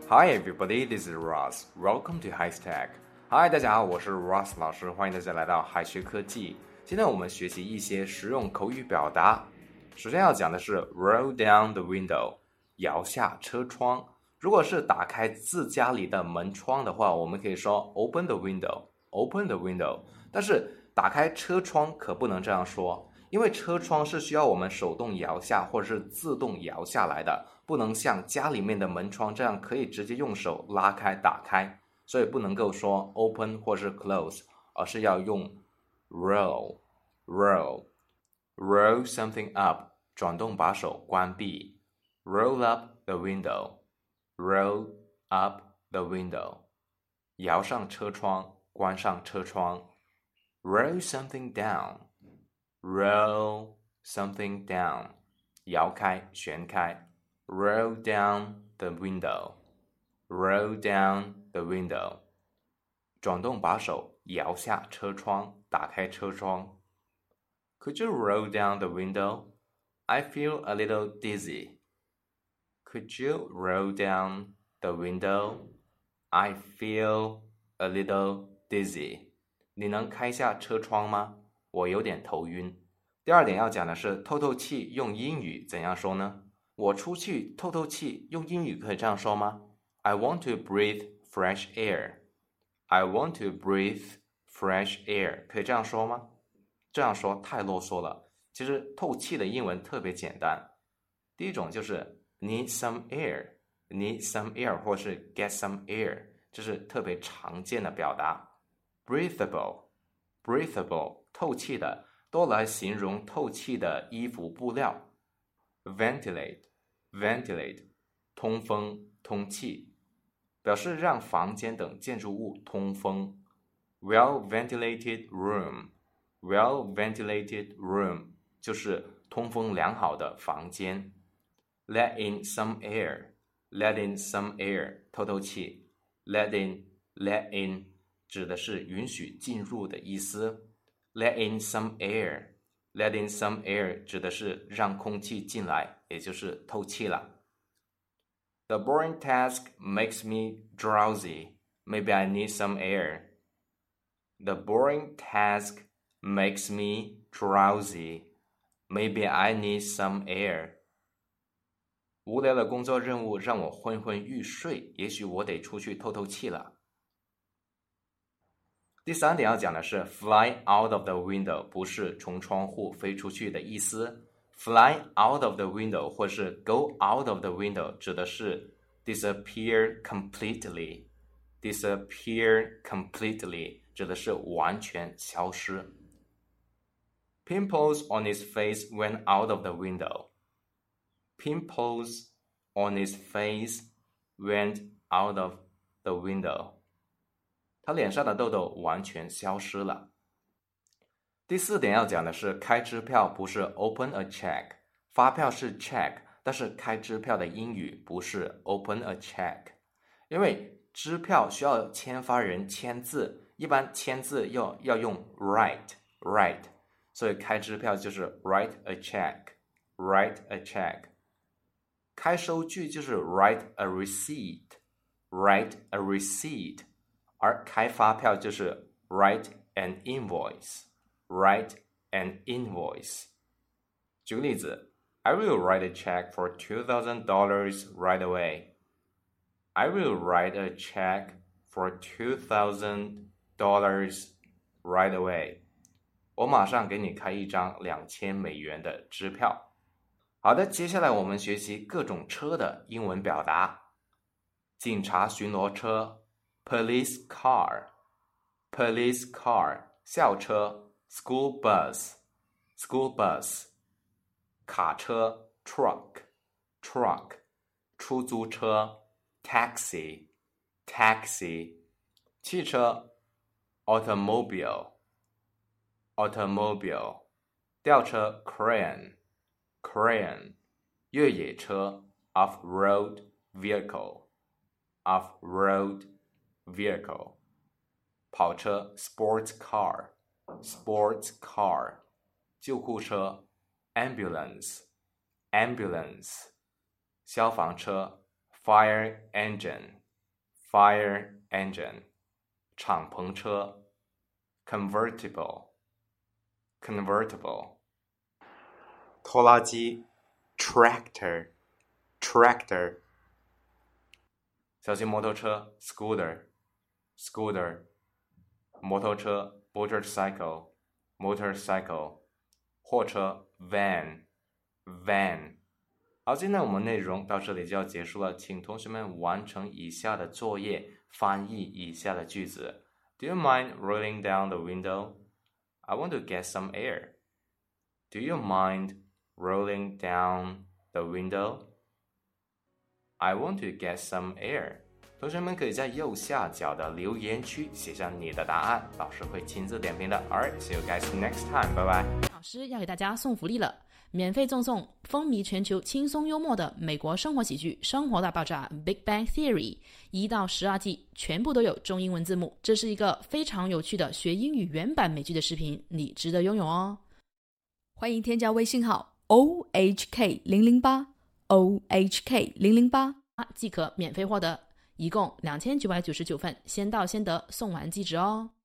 Hi everybody, this is Ross. Welcome to HighTech. Hi， 大家好，我是 Ross 老师，欢迎大家来到海学科技。今天我们学习一些实用口语表达。首先要讲的是 roll down the window， 摇下车窗。如果是打开自家里的门窗的话，我们可以说 open the window, open the window。但是打开车窗可不能这样说，因为车窗是需要我们手动摇下或者是自动摇下来的，不能像家里面的门窗这样可以直接用手拉开打开，所以不能够说 open 或是 close， 而是要用 roll something up， 转动把手关闭， roll up the window， roll up the window， 摇上车窗，关上车窗， roll something down， roll something down， 摇开旋开， roll down the window， roll down the window， 转动把手，摇下车窗，打开车窗。Could you roll down the window? I feel a little dizzy. Could you roll down the window? I feel a little dizzy. 你能开下车窗吗？我有点头晕。第二点要讲的是透透气用英语怎样说呢？我出去透透气用英语可以这样说吗？ I want to breathe fresh air. I want to breathe fresh air. 可以这样说吗？这样说太啰嗦了。其实透气的英文特别简单。第一种就是 need some air, need some air 或是 get some air， 这是特别常见的表达。breathable, breathable 透气的，多来形容透气的衣服布料。ventilate, ventilate 通风通气，表示让房间等建筑物通风。well ventilated room, well ventilated room 就是通风良好的房间。let in some air, let in some air 透透气。let in 指的是允许进入的意思。let in some air, let in some air 指的是让空气进来，也就是透气了。The boring task makes me drowsy. Maybe I need some air. The boring task makes me drowsy. Maybe I need some air. 无聊的工作任务让我昏昏欲睡，也许我得出去透透气了。第三点要讲的是 fly out of the window， 不是从窗户飞出去的意思。fly out of the window 或是 go out of the window 指的是 disappear completely， disappear completely 指的是完全消失。Pimples on his face went out of the window. Pimples on his face went out of the window. 他脸上的痘痘完全消失了。第四点要讲的是开支票不是 open a check， 发票是 check， 但是开支票的英语不是 open a check， 因为支票需要签发人签字，一般签字要用 write， 所以开支票就是 write a check， 开收据就是 write a receipt， 而开发票就是 write an invoice。举个例子 I will write a check for $2,000 right away. I will write a check for $2,000 right away. 我马上给你开一张$2000的支票。好的，接下来我们学习各种车的英文表达。警察巡逻车 police car, 校车 school bus, 卡车 truck, 出租车 taxi, 汽车 automobile, 吊车 crane, 越野车 off-road vehicle, 跑车 sports car, 救护车 ambulance, 消防车 fire engine, fire engine 敞篷车 convertible 拖拉机 tractor 小型摩托车 scooter 摩托车 motorcycle 货车 van 好，今天我们内容到这里就要结束了，请同学们完成以下的作业，翻译以下的句子。Do you mind rolling down the window? I want to get some air. Do you mind rolling down the window? I want to get some air. 同学们可以在右下角的留言区写上你的答案，老师会亲自点评的。Alright, see you guys next time. Bye bye. 老师要给大家送福利了，免费赠送风靡全球、轻松幽默的美国生活喜剧《生活大爆炸》Big Bang Theory 1到12季，全部都有中英文字幕。这是一个非常有趣的学英语原版美剧的视频，你值得拥有哦。 欢迎添加微信号 OHK008 OHK008 即可免费获得，一共2999份，先到先得，送完即止哦。